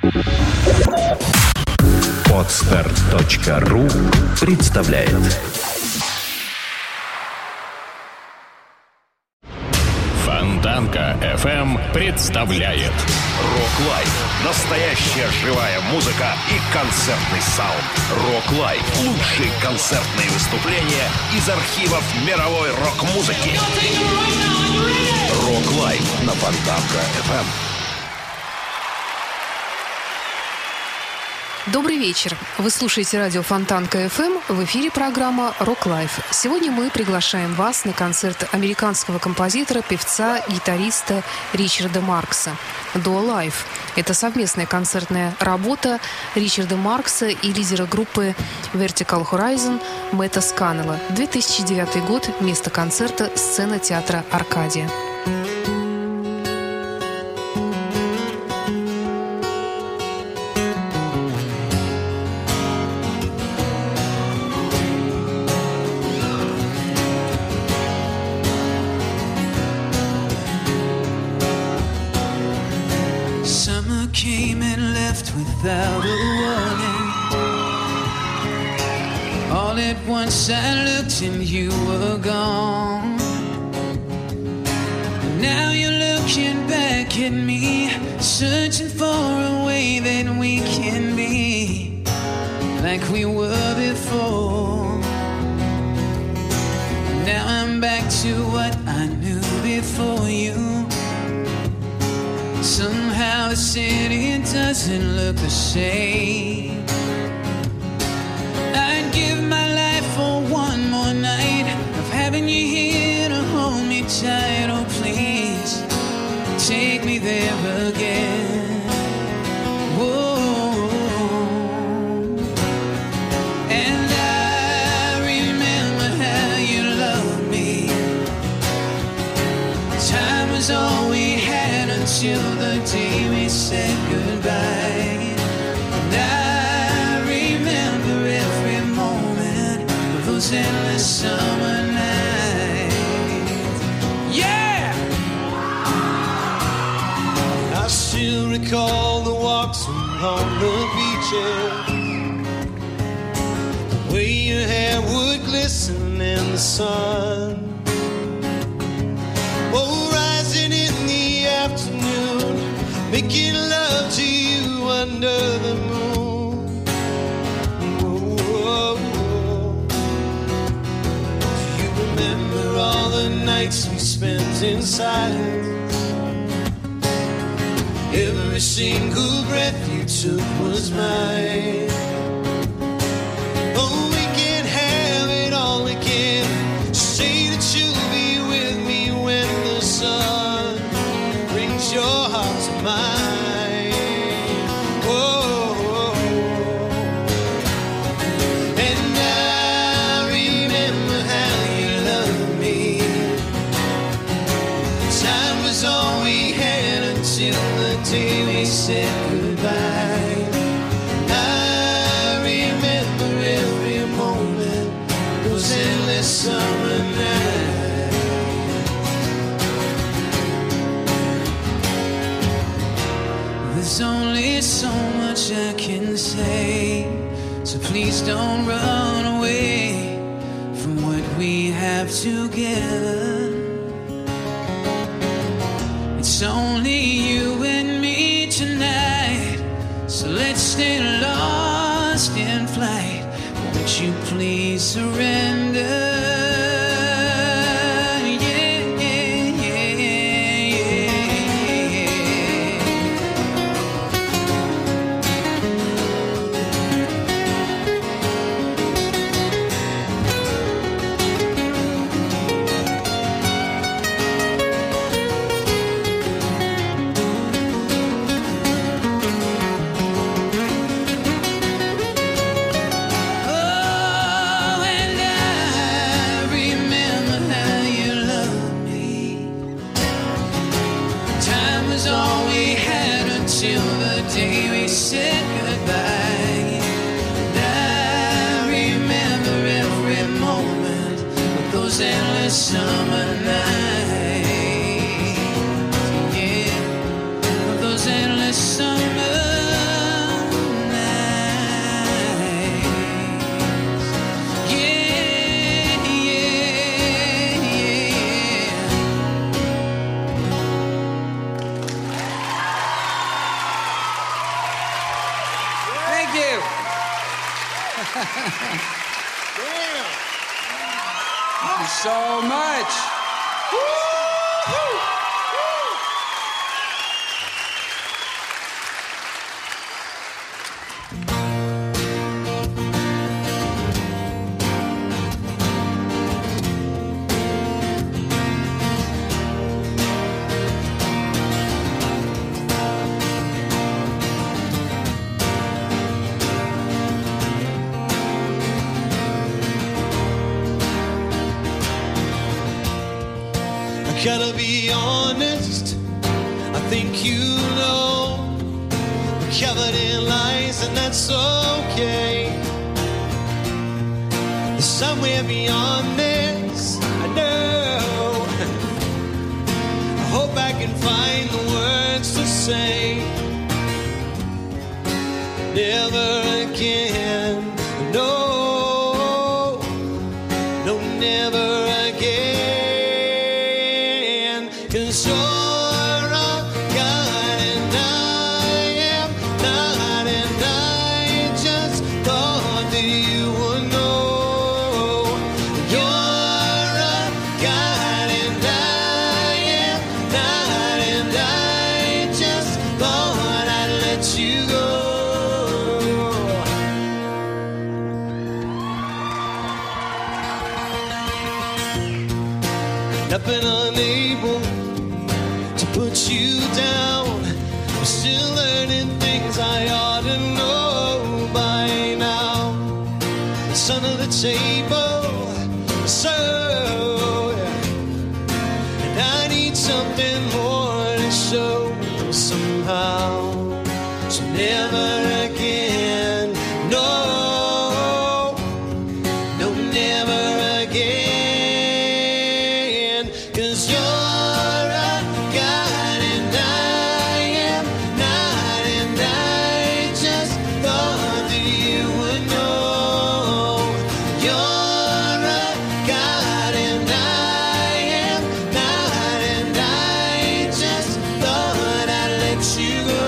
Podster.ru представляет. Фонтанка FM представляет Рок Лайф. Настоящая живая музыка и концертный саунд. Рок Лайф. Лучшие концертные выступления из архивов мировой рок-музыки. Рок Лайф на Фонтанка FM. Добрый вечер. Вы слушаете радио Фонтанка FM. В эфире программа «Рок Лайф». Сегодня мы приглашаем вас на концерт американского композитора, певца, гитариста Ричарда Маркса «Duo Life». Это совместная концертная работа Ричарда Маркса и лидера группы Vertical Horizon Мэтта Сканнелла. 2009 год. Место концерта — сцена театра «Аркадия». Came and left without a warning. All at once I looked and you were gone. And now you're looking back at me, searching for a way that we can be like we were before. Now I'm back to what I knew before you. Somehow the city doesn't look the same. I'd give my life for one more night of having you here to hold me tight. Oh, please, take me there again. Whoa. And I remember how you loved me. Time was all we had until the day we said goodbye. And I remember every moment of those endless summer nights. Yeah! I still recall the walks along the beaches, the way your hair would glisten in the sun. Oh, rising in the afternoon, making love to you under the moon. Whoa, whoa, whoa. Do you remember all the nights we spent in silence? Every single breath you took was mine. Oh, we can have it all again. Say that you'll be with me when the sun brings your heart to mine. Whoa. And I remember how you loved me. Time was all we had until the day we said goodbye. I remember every moment, those endless summer nights. There's only so much I can say, so please don't run away from what we have together. It's only you and me tonight, so let's stay lost in flight. Won't you please surrender? Summer nights, yeah, those endless summer Thank you. Thank you so much. Gotta be honest, I think you know we're covered in lies and that's okay. There's somewhere beyond this, I know. I hope I can find the words to say. Never again, no, no, never again. 'Cause you're a God and I am not, and I just thought that you would know. You're a God and I am not, and I just thought I'd let you go. I've been unable to put you down. I'm still learning things I ought to know by now. It's under the table, so and I need something more to show somehow. So never again, no, no, never again. 'Cause you're a God and I am not, and I just thought that you would know. You're a God and I am not, and I just thought I'd let you go.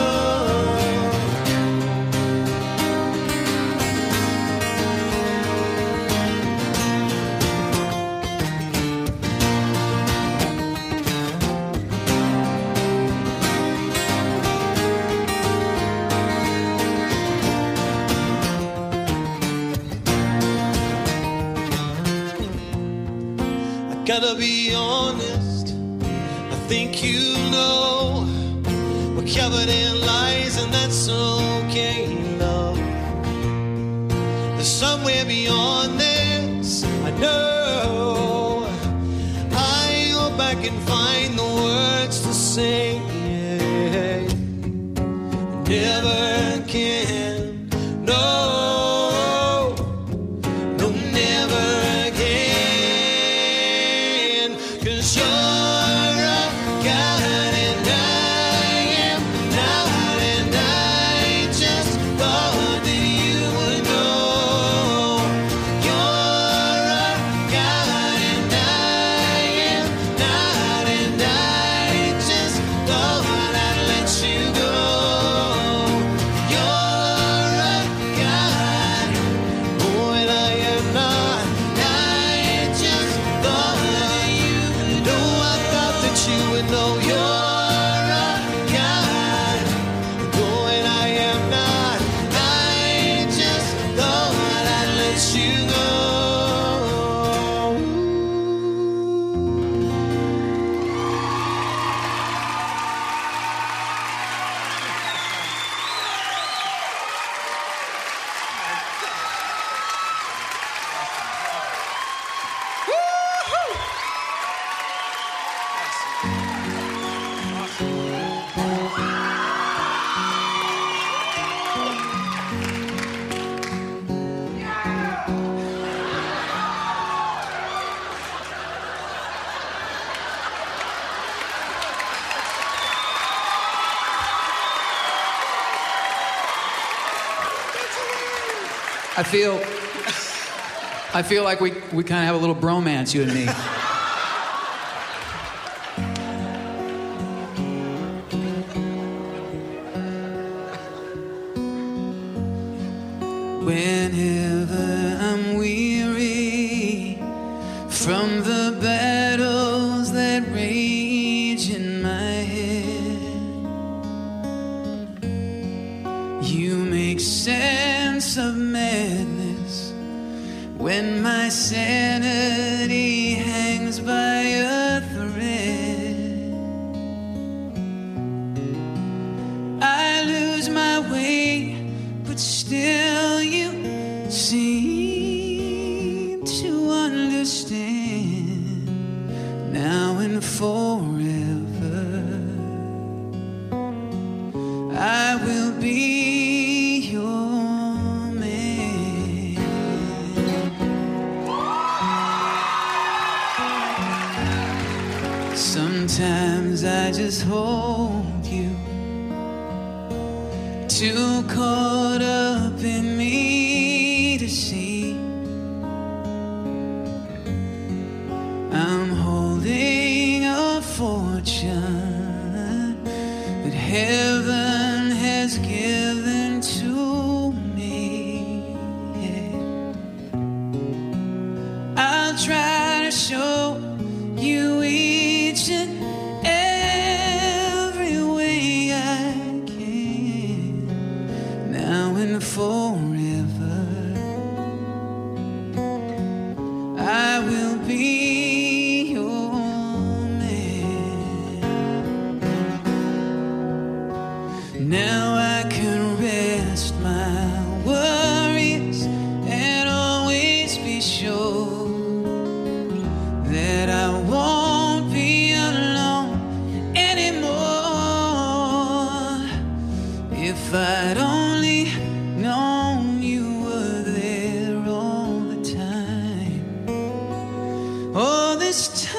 Gotta be honest, I think you know we're covered in lies and that's okay, love. There's somewhere beyond this, I know. I hope I can find the words to say. Never again, no, no, never again. 'Cause you're a God and I am not, and I just thought that you would know. You're a God and I am not, and I just thought I'd let you go. You're a God, oh, and I am not. I just thought that you would know. I thought that you would know. You're a God, oh, and I am not. I just thought I'd let you go. I feel like we kind of have a little bromance, you and me. whenever I'm weary from the battles that rage in my head. You make sense of madness when my sanity hangs by a thread. I lose my way, but still you seem to understand. Now and forever, I will be your man. Sometimes I just hold you, too caught up in me to see. I'm holding a fortune that heaven has given to me. I'll try to show you each and every way I can. Now and forever, I will be your man. Now I can rest my worries and always be sure that I won't be alone anymore. If I'd only known you were there all the time, all this time.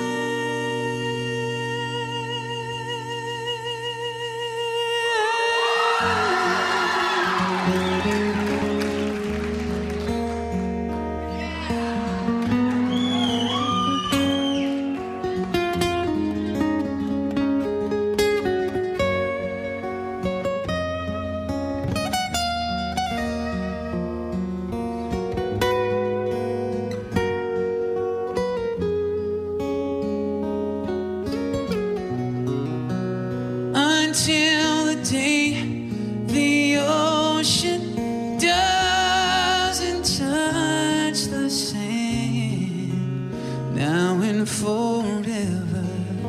Until the day the ocean doesn't touch the sand. Now and forever,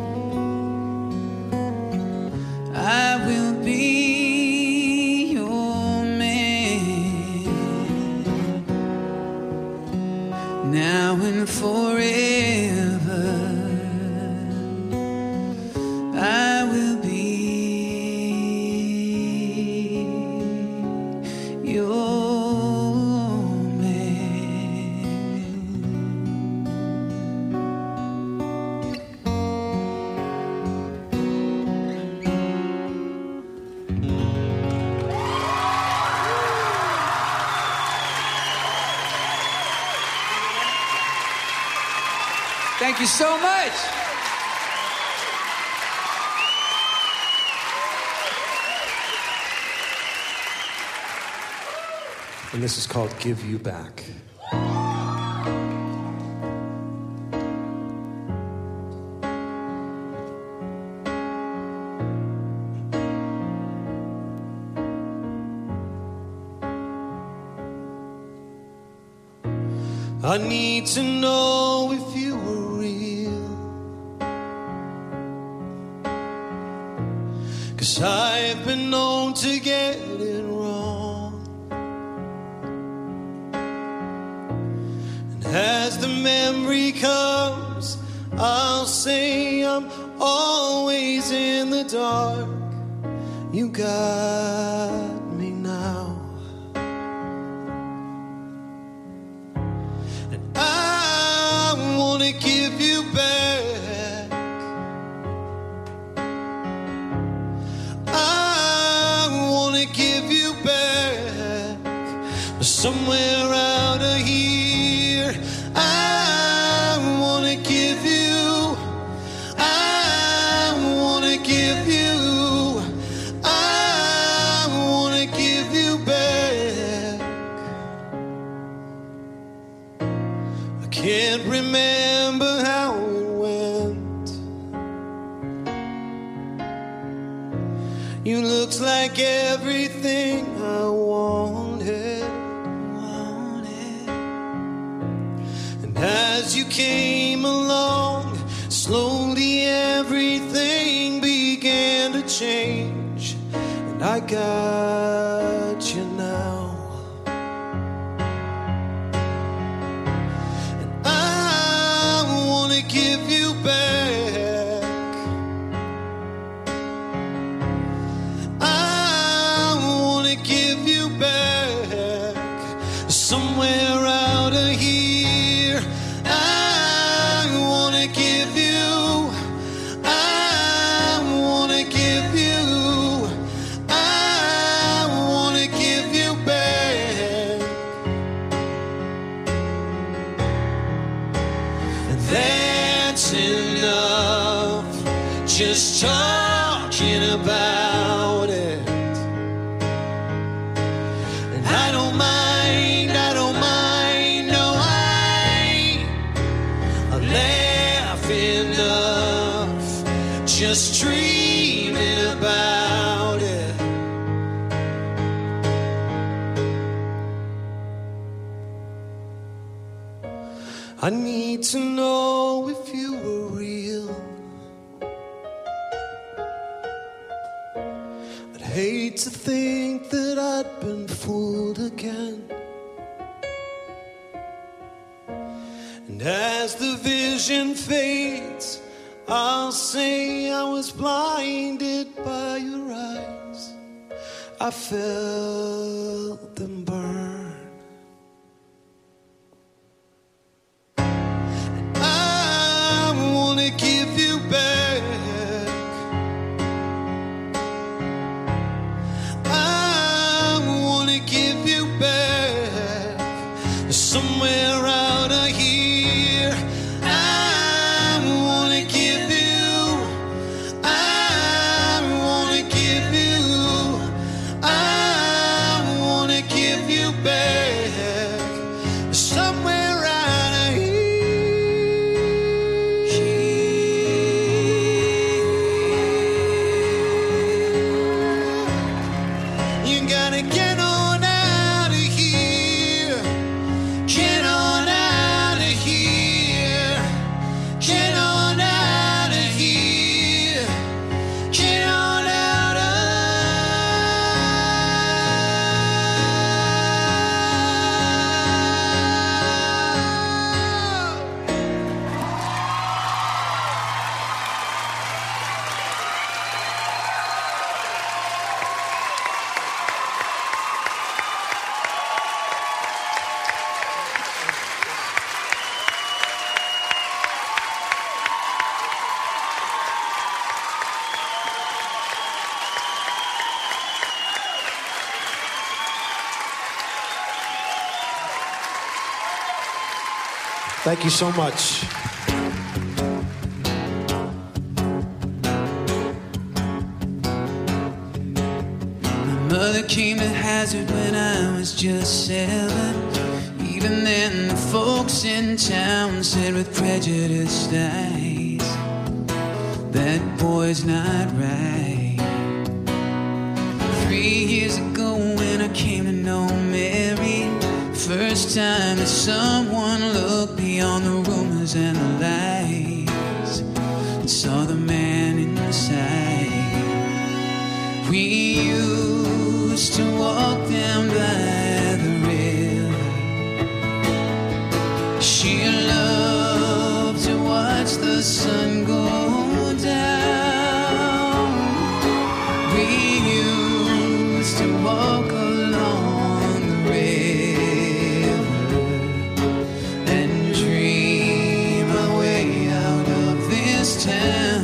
I will be your man. Now and forever, I will be your man. Thank you so much. And this is called Give You Back. I need to know if you were real, 'cause I've been known to get it wrong. And as the memory comes, I'll say I'm always in the dark. You got me now. I wanna give you back. I wanna give you back. But somewhere out of here, I wanna give you. I wanna give you. I wanna give you back. everything I wanted. And as you came along, slowly everything began to change. And I got you now. And I want to give you back. I want to give you back. Somewhere out of here, I want to give you. I want to give you. I want to give you back. That's enough. Just talking about it. And I don't mind, I don't mind, no, I laugh enough. Just dreaming about it. I need to know if you were real. I'd hate to think that I'd been fooled again. And as the vision fades, I'll say I was blinded by your eyes. I felt them burn. I want to give you back. I want to give you back. Somewhere out of here, I want to give you. I want to give you. I want to give you back. Somewhere out of here. You gotta get on out of here. Get on out of here. Get on out of here. Get on out of. Thank you so much. My mother came to Hazard when I was just 7. Even then, the folks in town said with prejudiced eyes, that boy's not right. 3 years ago when I came to know Mary, first time that someone looked beyond the rumors and the lies and saw the man inside. We used to walk down by the river. She loved to watch the sun go down. We used to walk along the river and dream our way out of this town.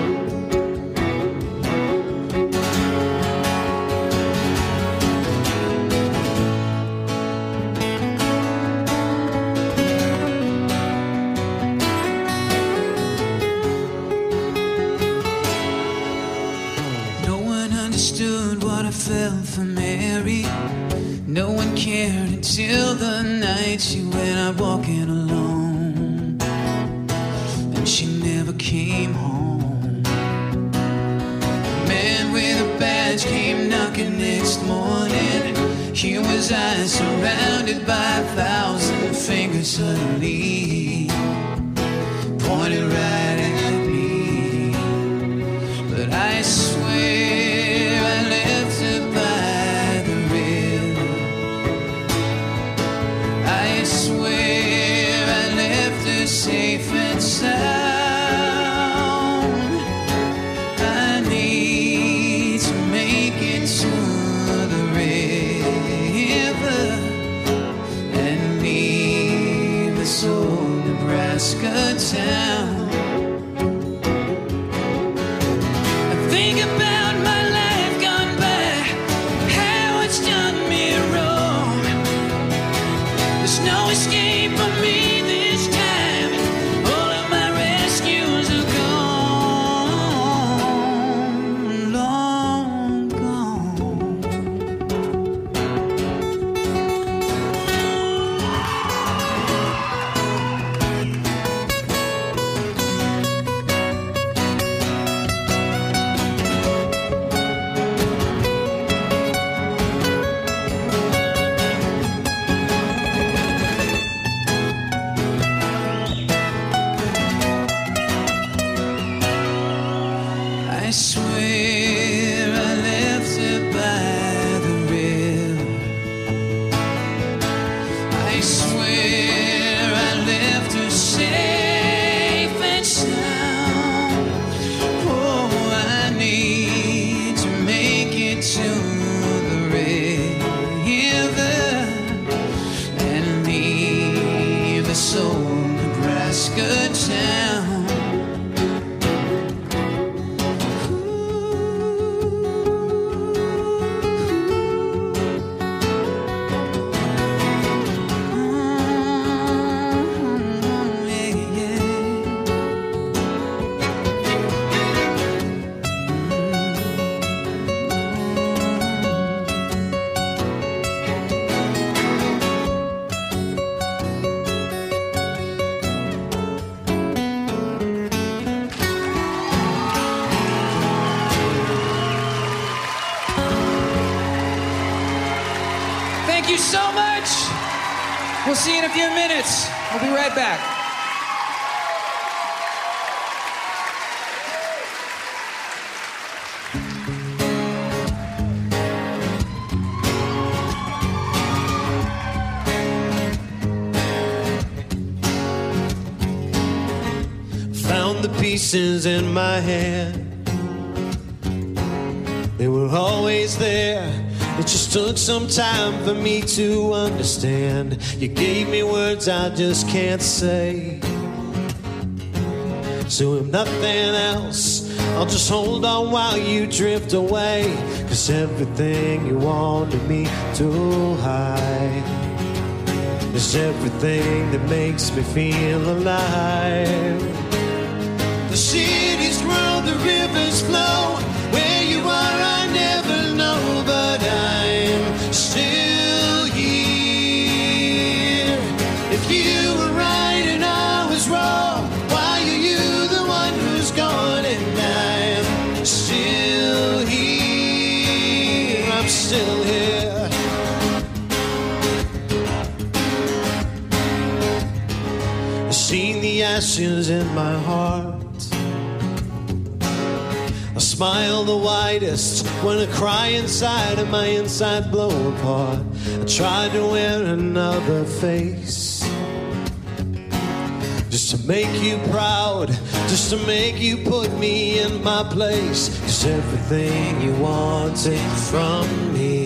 No one understood what I felt for Mary. No one cared until the night she went out walking alone, and she never came home. A man with a badge came knocking the next morning, here was I surrounded by 1,000 fingers suddenly pointed right at me. But I swear I left her by the river. I swear I left her safe and sound. I need to make it to the river and leave this old Nebraska town. I think about my life gone by, how it's done me wrong. There's no escape for me this time. All of my rescues are gone, long gone. I swear I left her by the river. I swear I left her safe and sound. Oh, I need to make it to the river and leave this old Nebraska town. Thank you so much. We'll see you in a few minutes. We'll be right back. Found the pieces in my hand. They were always there. It just took some time for me to understand. You gave me words I just can't say. So if nothing else, I'll just hold on while you drift away. 'Cause everything you wanted me to hide is everything that makes me feel alive. The cities grow, the rivers flow. Where you are, I never know, but I'm still here. If you were right and I was wrong, why are you the one who's gone and I'm still here? I'm still here. I've seen the ashes in my heart. I smile the widest when I cry inside and my inside blow apart. I tried to wear another face just to make you proud, just to make you put me in my place. 'Cause everything you wanted from me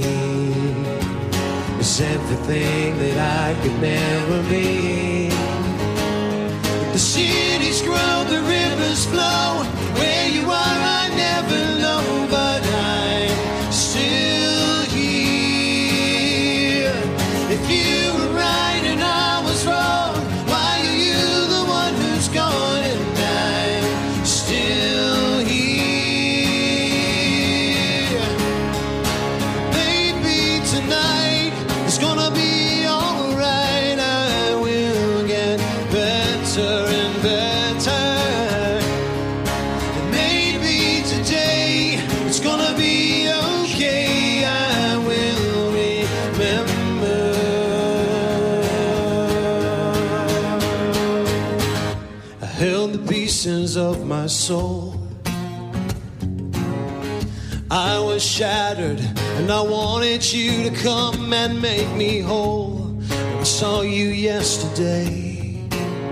is everything that I could never be. The cities grow, the rivers flow. Where you are, I never know, but I'm still here. If you were right and I was wrong, why are you the one who's gone and I'm still here? Maybe tonight it's gonna be alright. I will get better and better. And maybe today it's pieces of my soul. I was shattered and I wanted you to come and make me whole. I saw you yesterday,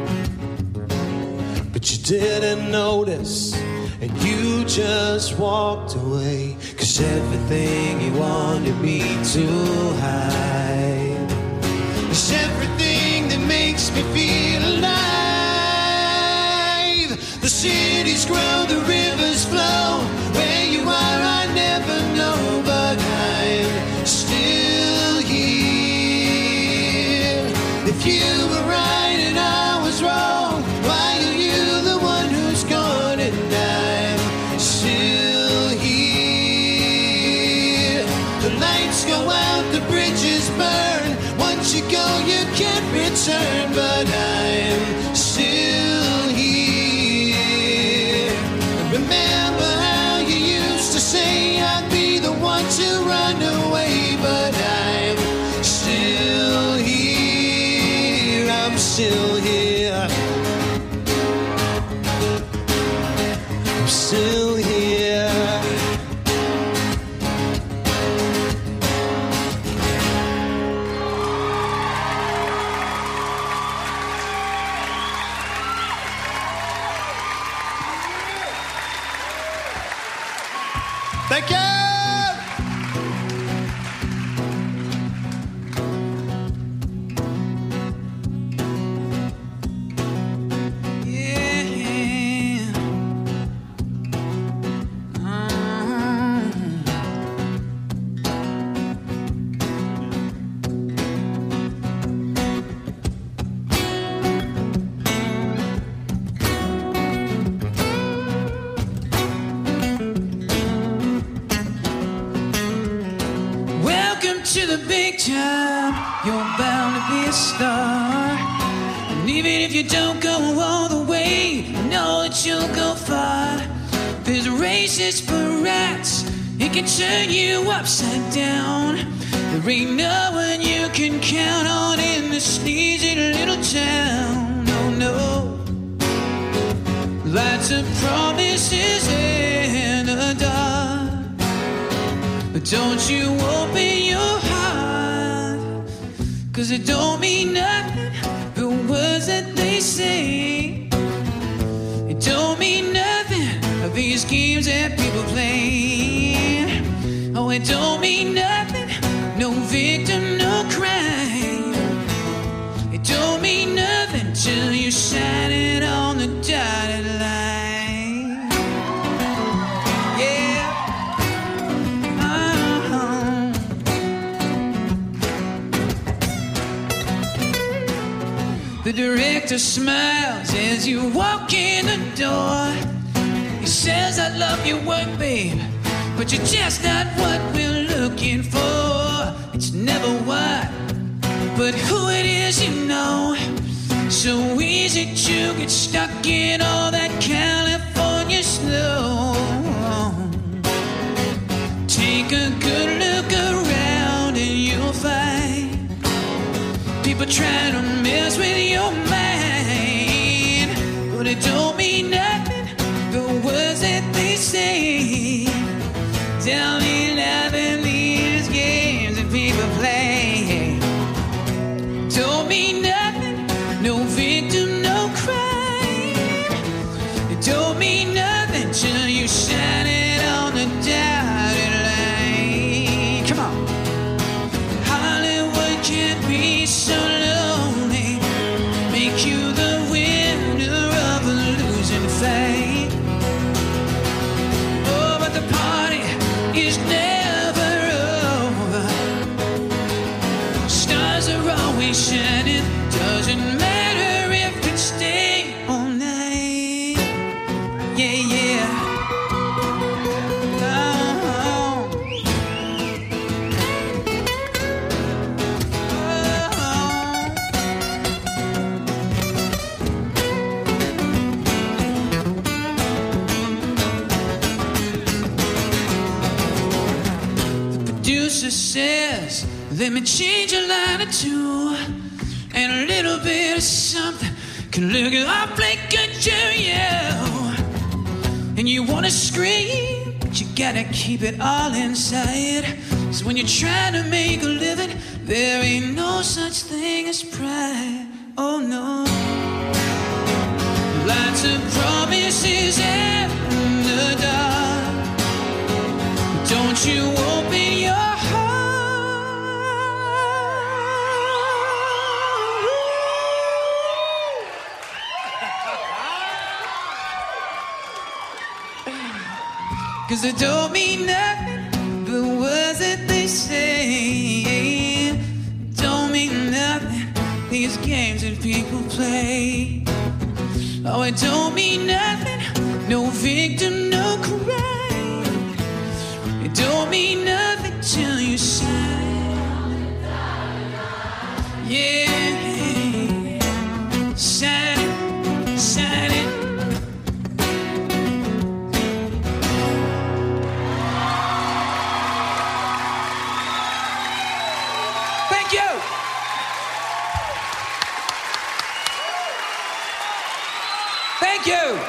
but you didn't notice and you just walked away. 'Cause everything you wanted me to hide is everything that makes me feel alive. The cities grow, the rivers flow. Where you are I never know, but I'm still here. If you were right and I was wrong, why are you the one who's gone and I'm still here? The lights go out, the bridges burn. Once you go, you can't return, but I'm still here. Remember how you used to say I'd be the one to run away, but I'm still here. I'm still here. I'm still here. Thank you. To the big time, you're bound to be a star. And even if you don't go all the way, you know that you'll go far. There's races for rats, it can turn you upside down. There ain't no one you can count on in this sneezy little town. No, no. Lots of promises in the dark, but don't you open your heart, 'cause it don't mean nothing, the words that they say. It don't mean nothing, these games that people play. Oh, it don't mean nothing, no victim, no crime. It don't mean nothing till you shine it on the dotted line. Yeah. The director smiles as you walk in the door. He says, I love your work, babe, but you're just not what we're looking for. It's never what, but who it is, you know. So easy to get stuck in all that California snow. Take a good look around and you'll find people trying to mess with your mind, but it don't mean nothing, the words that they say. Tell me nothing, these games that people play. Don't mean nothing, no victim, no crime. It don't mean nothing till you shine it on the dotted line. Come on. Hollywood can't be so lonely, make you the winner of a losing fight. Oh, but the party is never over. Stars are always shining, doesn't matter if it's stay all night. Yeah, yeah. Says, let me change a line or two, and a little bit of something can look awfully good to you, and you wanna scream, but you gotta keep it all inside. So when you're trying to make a living, there ain't no such thing as pride. Oh no. Lots of promises in the dark. Don't you open your heart. 'Cause it don't mean nothing, the words that they say don't mean nothing. These games that people play. Oh, it don't mean nothing. No victim, no crime. It don't mean nothing till you sign. Yeah, sign it, sign it. Thank you. Thank you.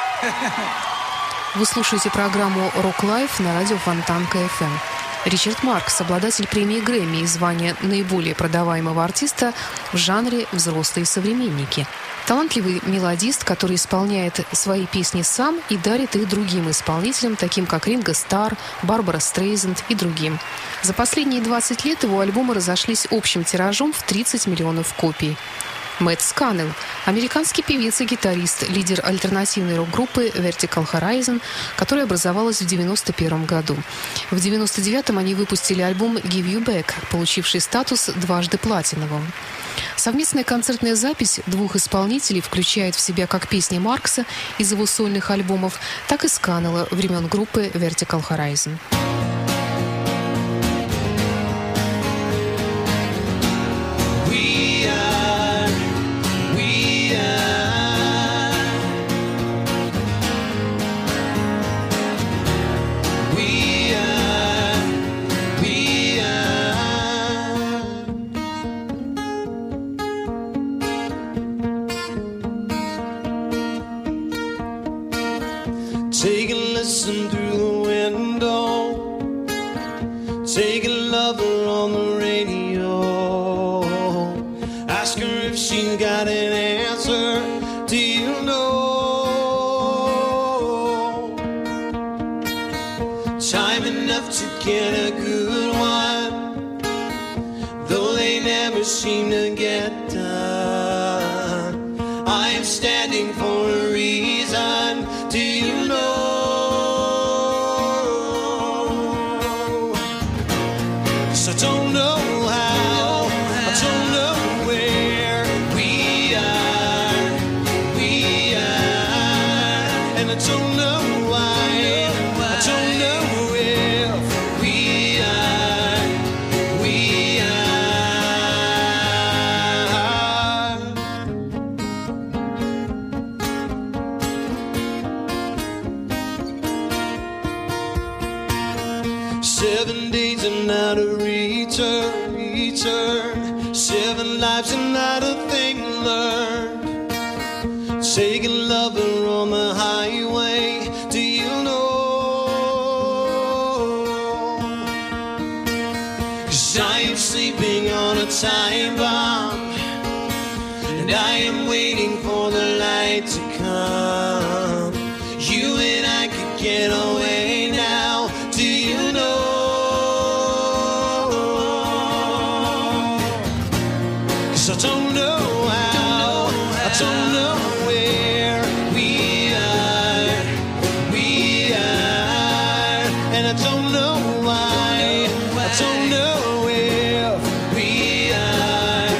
Вы слушаете программу «Рок Лайф» на радио Фонтанка FM. Ричард Маркс, обладатель премии Грэмми и звания наиболее продаваемого артиста в жанре «Взрослые современники». Талантливый мелодист, который исполняет свои песни сам и дарит их другим исполнителям, таким как Ринго Старр, Барбара Стрейзенд и другим. За последние 20 лет его альбомы разошлись общим тиражом в 30 миллионов копий. Мэтт Сканнелл, американский певец и гитарист, лидер альтернативной рок-группы Vertical Horizon, которая образовалась в 1991 году. В 1999 они выпустили альбом «Give You Back», получивший статус дважды платиновым. Совместная концертная запись двух исполнителей включает в себя как песни Маркса из его сольных альбомов, так и Сканнелла времен группы Vertical Horizon. Take a listen through the window. Take a lover on the radio. Ask her if she's got an answer. Do you know? Time enough to get a good one, though they never seem to get done. I am standing for a reason. Do you know? I don't know how, I don't know where we are, and I don't know why, I don't know if we are. Seven days and not a return. 7 lives and not a thing learned. Take a lover on the highway. Do you know? 'Cause I am sleeping on a time bomb, and I am waiting for the light to come. You and I could get away now. Do you know? I don't know how, I don't know where we are, and I don't know why, I don't know if we are.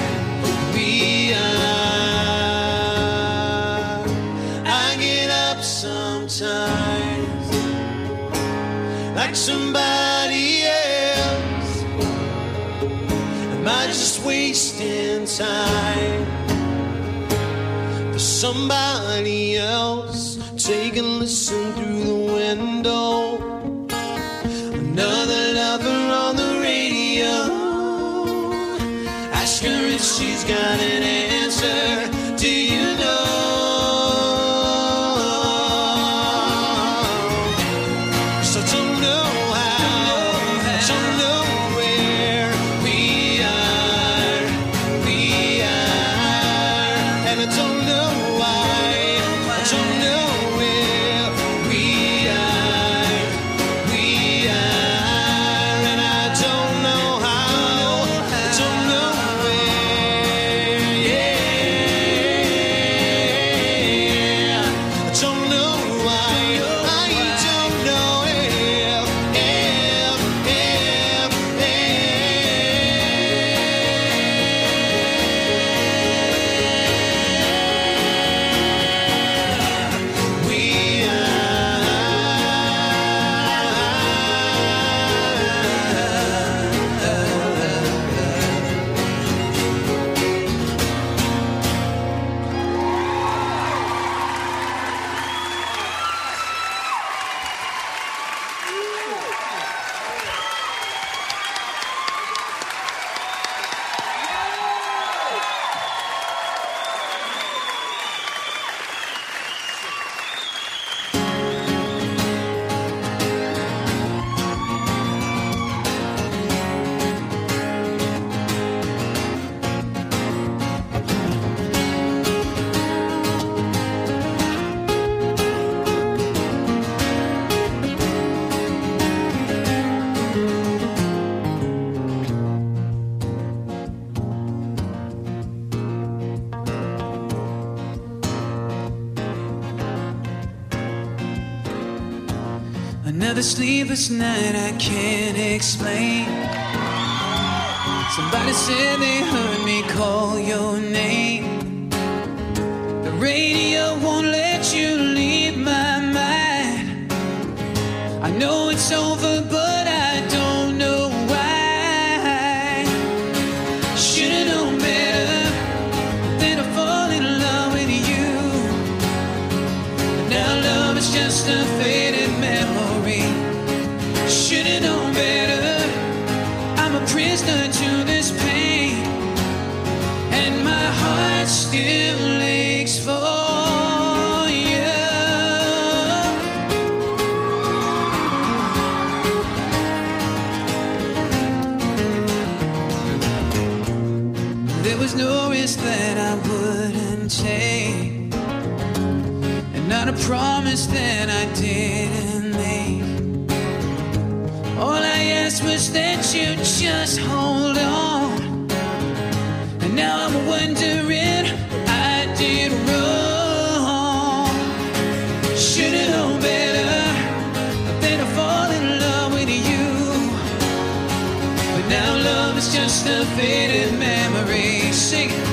I get up sometimes like somebody else. Am I just wasting time for somebody else? Take a listen through the window. Another lover on the radio. Ask her if she's got an answer. Do you know? Another sleepless night I can't explain. Somebody said they heard me call your name. The radio won't let you leave my mind. I know it's over, but I don't know why. Should've known better than to fall in love with you. But now love is just a faded memory. Should've known better. I'm a prisoner to this pain, and my heart still aches for you. There was no risk that I wouldn't take, and not a promise that I didn't make. All I asked was that you just hold on, and now I'm wondering I did wrong. Should've known better than to fall in love with you. But now love is just a faded memory. Sing it.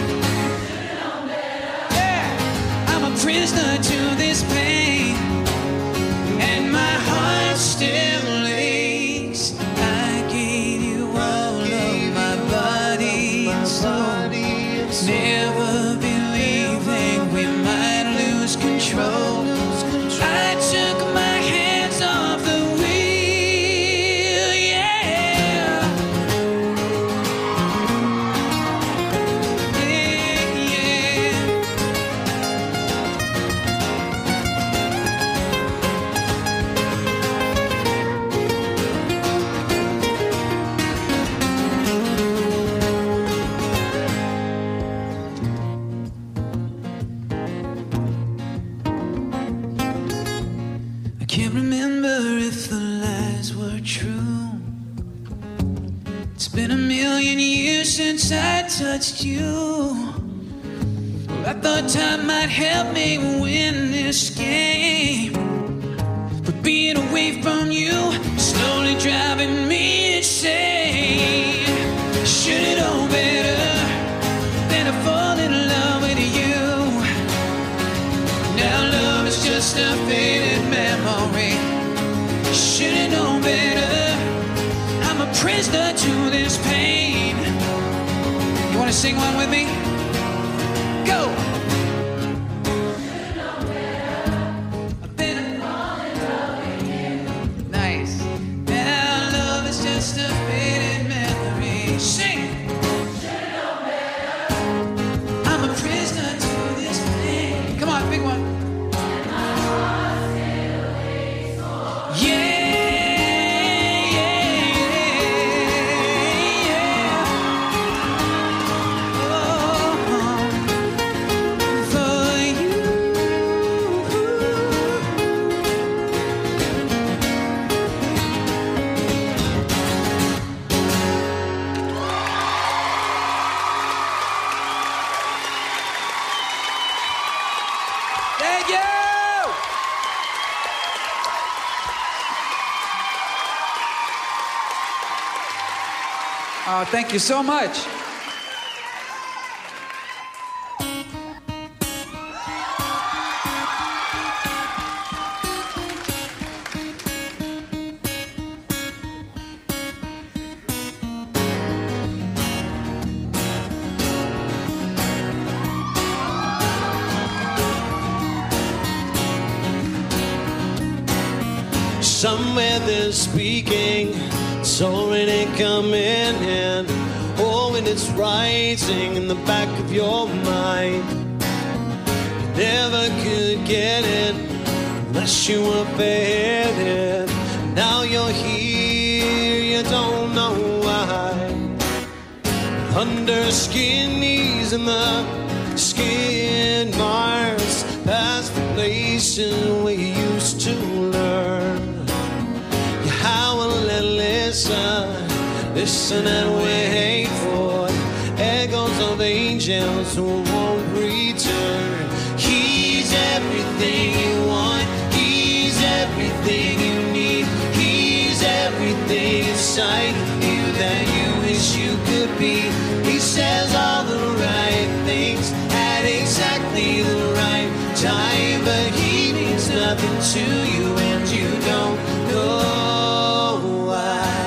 Yeah. I'm a prisoner to this pain, and my heart still aches. I gave you all of my body and soul, never believing we might lose control. I took my hands off the wheel, yeah. Yeah, yeah. I can't remember if the lies were true. It's been a million years since I touched you. Well, I thought time might help me win this game, but being away from you slowly driving me insane. Should've known better than to fall in love with you. Now love is just a faded memory. Should've known better. I'm a prisoner to this pain. You wanna sing one with me? Go! I've been falling in love with you. Nice. Now love is just a faded memory. Sing! I'm a prisoner to this pain. Come on, big one. Yeah, yeah, yeah. Oh, for you. Thank you. Oh, thank you so much. Somewhere they're speaking, it's already coming in. Oh, and it's rising in the back of your mind. You never could get it unless you were faded. Now you're here, you don't know why. Under skin knees and the skin marks, past the places where you used to learn. You howl and listen and wait for echoes of angels who won't return. He's everything you want, he's everything you need. inside of you that you wish you could be. He says all the right things at exactly the right time, but he means nothing to you and you don't know why.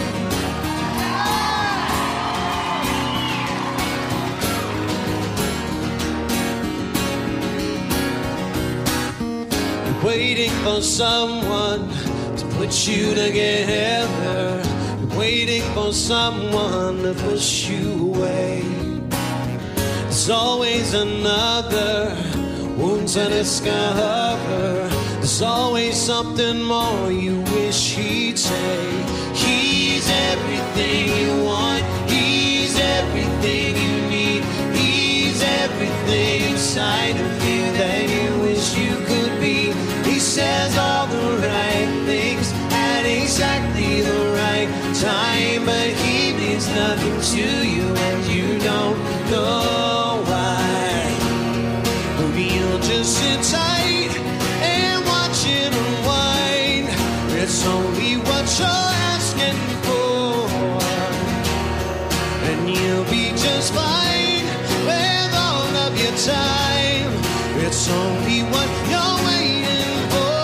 You're waiting for someone to put you together. You're waiting for someone to push you away. There's always another wound to discover. There's always something more you wish he'd say. He's everything you want. He's everything you need. He's everything inside of you that you wish you could be. He says all the right things at exactly the right time, but he means nothing to you and you don't know why. You'll just sit tight and watch it unwind. It's only what you're asking for, and you'll be just fine with all of your time. It's only what you're waiting for.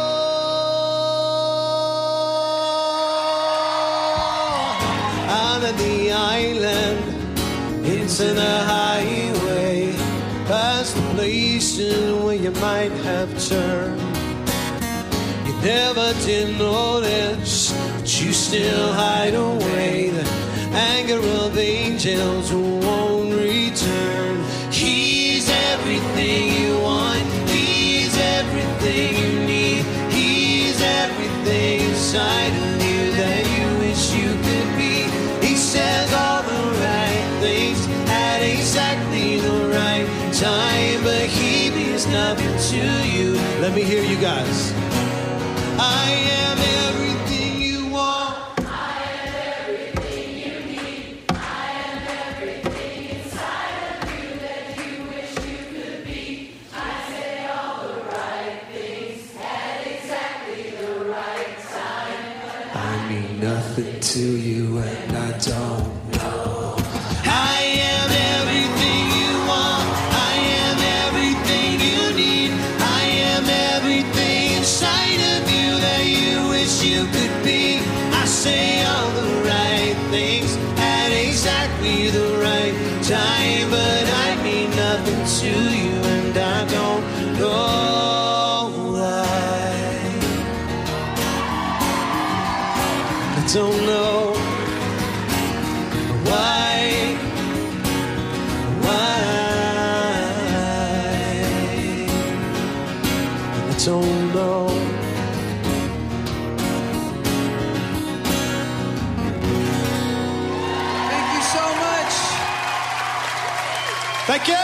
Out of the island into the highway, past the places where you might have turned. You never did notice, but you still hide away the anger of angels who won't return. He's everything you want. He's everything you need. He's everything inside of you that you wish you could be. He says all the right things at exactly the right time, but he means nothing to you. Let me hear you guys. I am everything you want. I am everything you need. I am everything inside of you that you wish you could be. I say all the right things at exactly the right time. I mean nothing to you and I don't know. I am everything you want. I am everything you need. I am everything inside of you that you wish you could be. I say all the right things at exactly the right time, but I mean nothing to you and I don't know why. I don't know why. I don't know. Thank you so much. Thank you.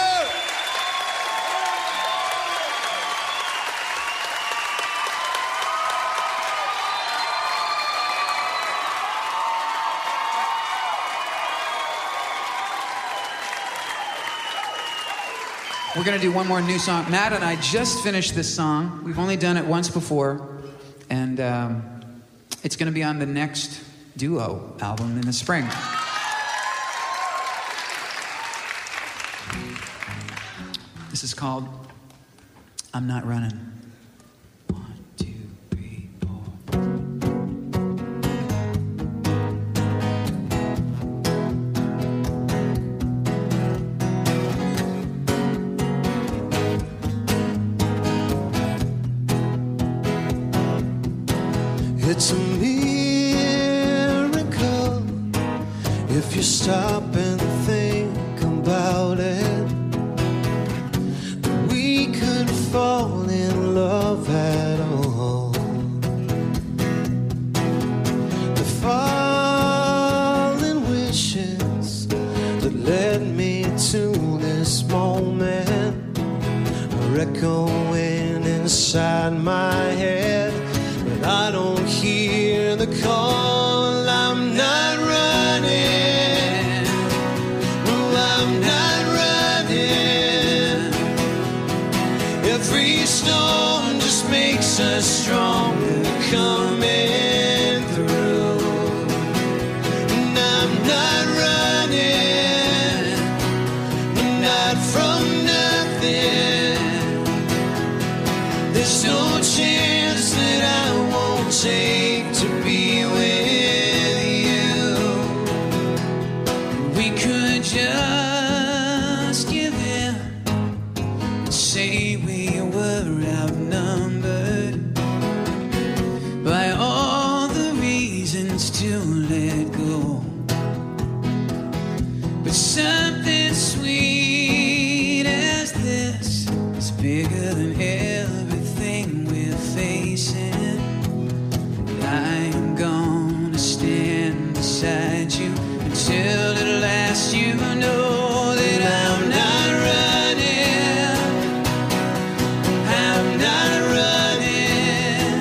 We're going to do one more new song. Matt and I just finished this song. We've only done it once before. And it's going to be on the next duo album in the spring. This is called I'm Not Running. 1, 2, 3, 4. It's a miracle if you stop and think about it. We could fall in love at all. The fallen wishes that led me to this moment are echoing inside my head. I don't hear the call. I'm not running. No, I'm not running. Every storm just makes us stronger coming through. we could just give in and say we were outnumbered by all the reasons to let go. But something sweet as this is bigger than everything we're facing. I am gonna stand beside you until at last you know that I'm not running. I'm not running.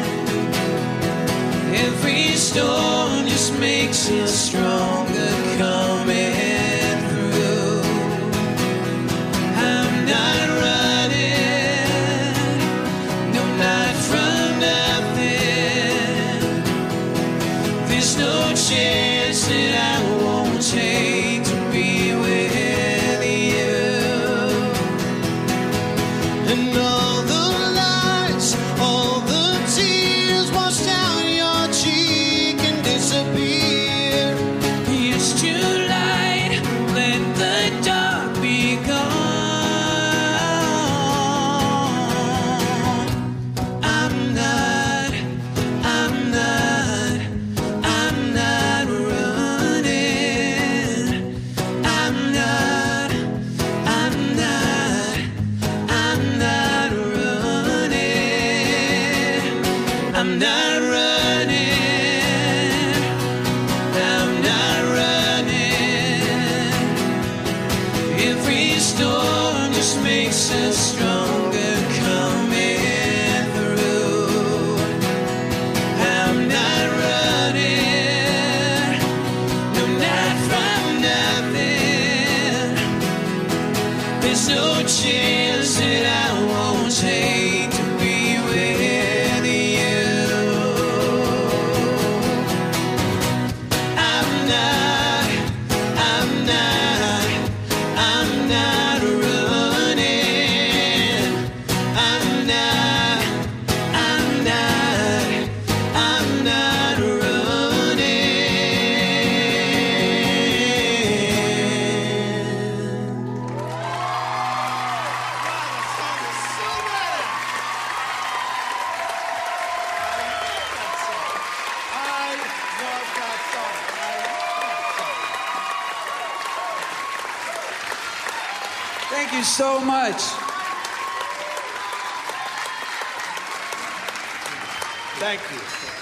Every storm just makes us stronger coming through. I'm not running. No, not from nothing. There's no chance that I won't take to be with you. And all the lights, all the tears wash down your cheek and disappear. It's too light, let the dark be gone. I'm not running. I'm not running. I'm not running. I'm not running. Every storm just makes us stronger coming through. I'm not running. No, not from nothing. There's no chance that I won't take to be with you. I'm not running. I'm not running. Thank you so much. Thank you.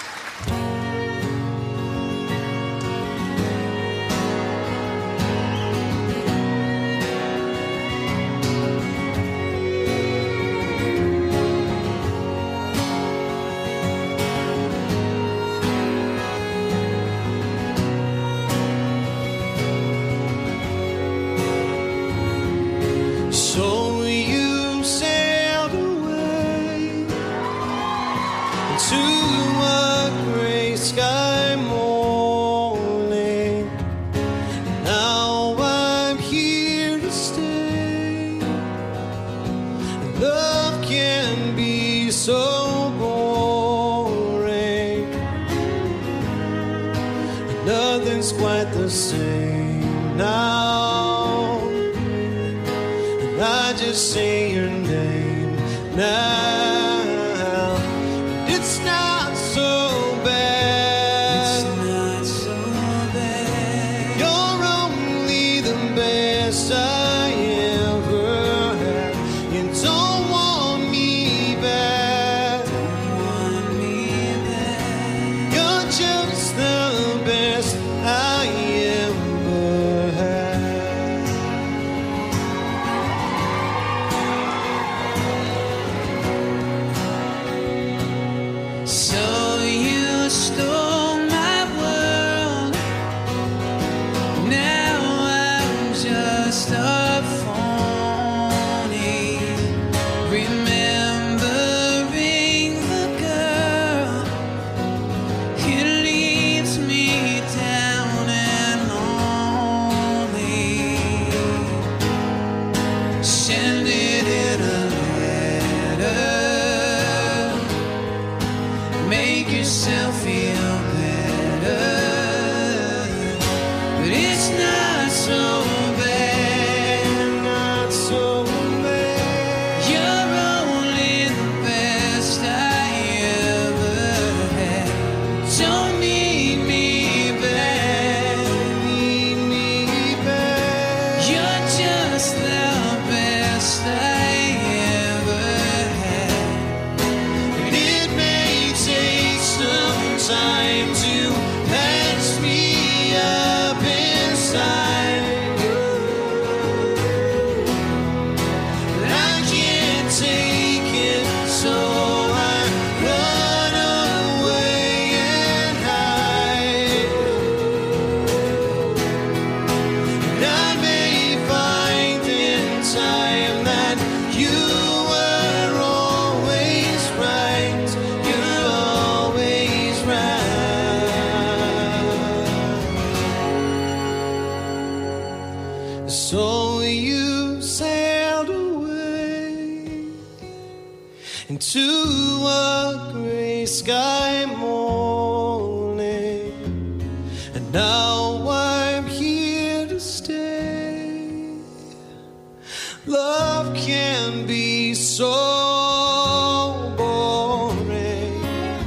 So you sailed away to a gray sky morning. Now I'm here to stay. Love can be so boring. Nothing's quite the same now. I just say your name now. It's not so bad. It's not so bad. You're only the best I ever had. You don't want me back. You're just the best I ever had. So you stole my world. Now I'm just a phony, remembering the girl. It leaves me down and lonely. Send it in a letter. Make yourself feel better. But it's not so So you sailed away into a gray sky morning, and now I'm here to stay. Love can be so boring.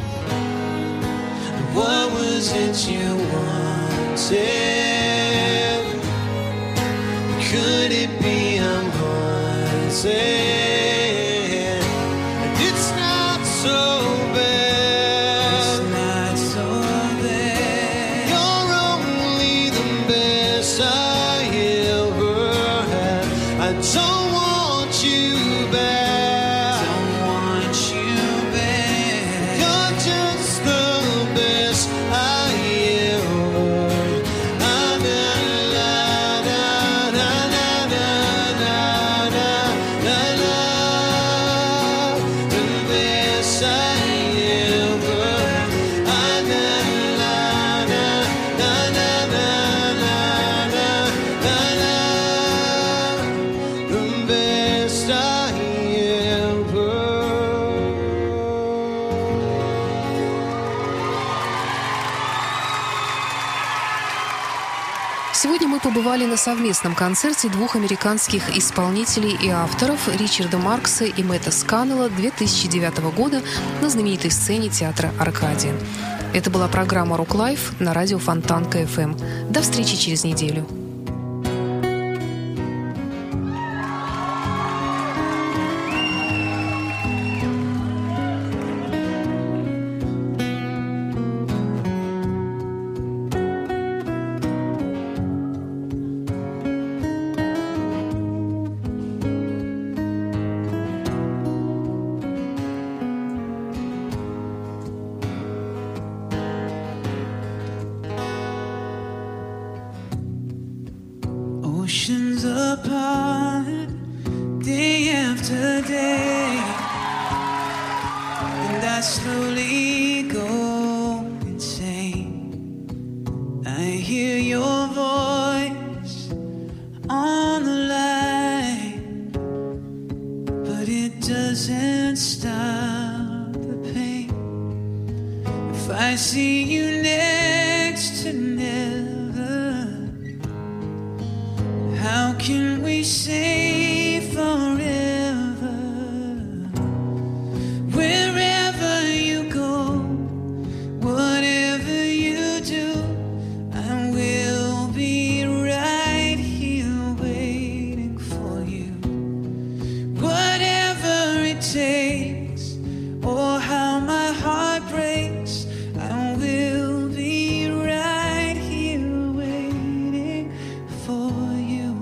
What was it you wanted? Could it be I'm haunted? And it's not so bad. It's not so bad. You're only the best I ever had. I don't want you back. Don't want you back. You're just the best I ever had. Сегодня мы побывали на совместном концерте двух американских исполнителей и авторов Ричарда Маркса и Мэтта Сканнелла 2009 года на знаменитой сцене театра «Аркадия». Это была программа «Рок Лайф» на радио Фонтанка ФМ. До встречи через неделю. Oceans apart, day after day, and I slowly go insane. I hear your voice on the line, but it doesn't stop the pain. If I see you next to never, how can we say forever? Wherever you go, whatever you do, I will be right here waiting for you. Whatever it takes, or how my heart breaks, I will be right here waiting for you.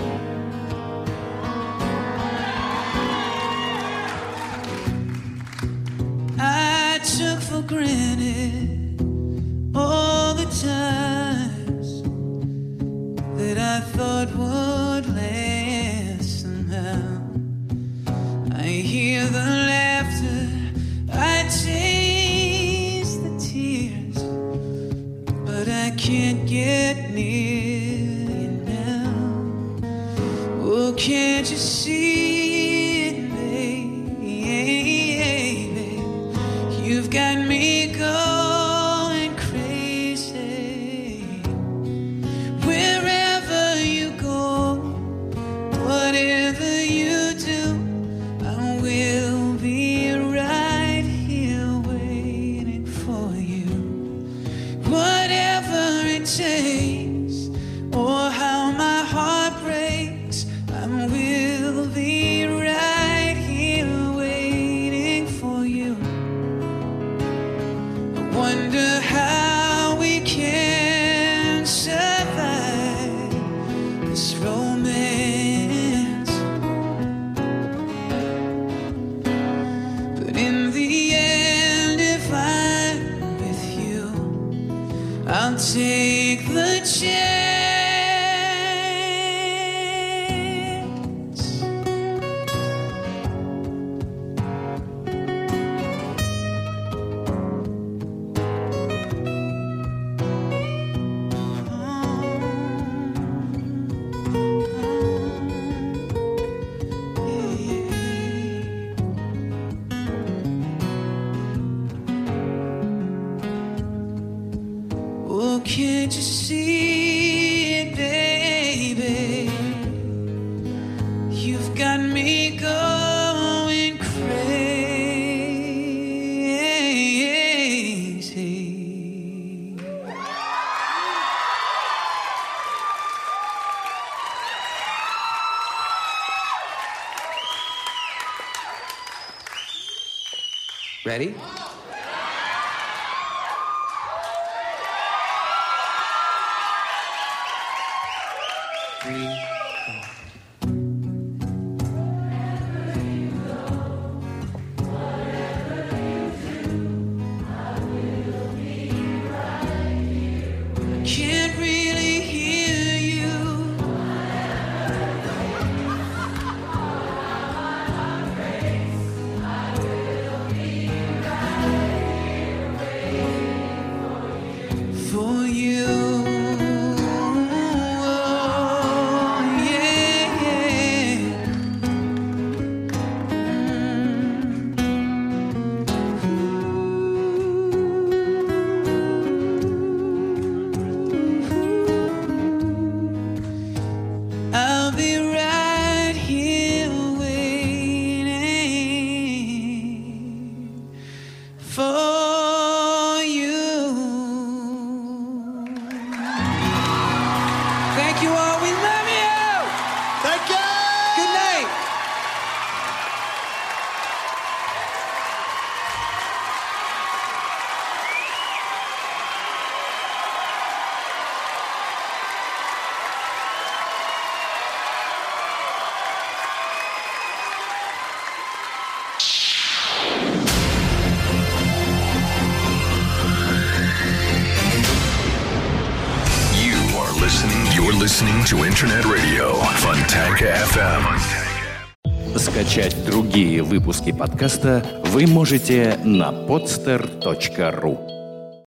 I took for granted all the times that I thought would last somehow. I hear the laughter, I taste the tears, but I can't get near you now. Oh, can't you see it, baby? You've got me going crazy. Wherever you go, whatever you do, I will be right here waiting for you. Whatever it takes, or how my heart breaks, I will be right here waiting for you. I wonder how we can survive this romance. But in the end, if I'm with you, I'll take the chance. Ready? Can't really hear you. For you. Oh, yeah, yeah. I'll be right here waiting for you. Thank you all. We love you. Thank you! Good night. You're listening to Internet Radio Fontanka FM. Скачать другие выпуски подкаста вы можете на podster.ru.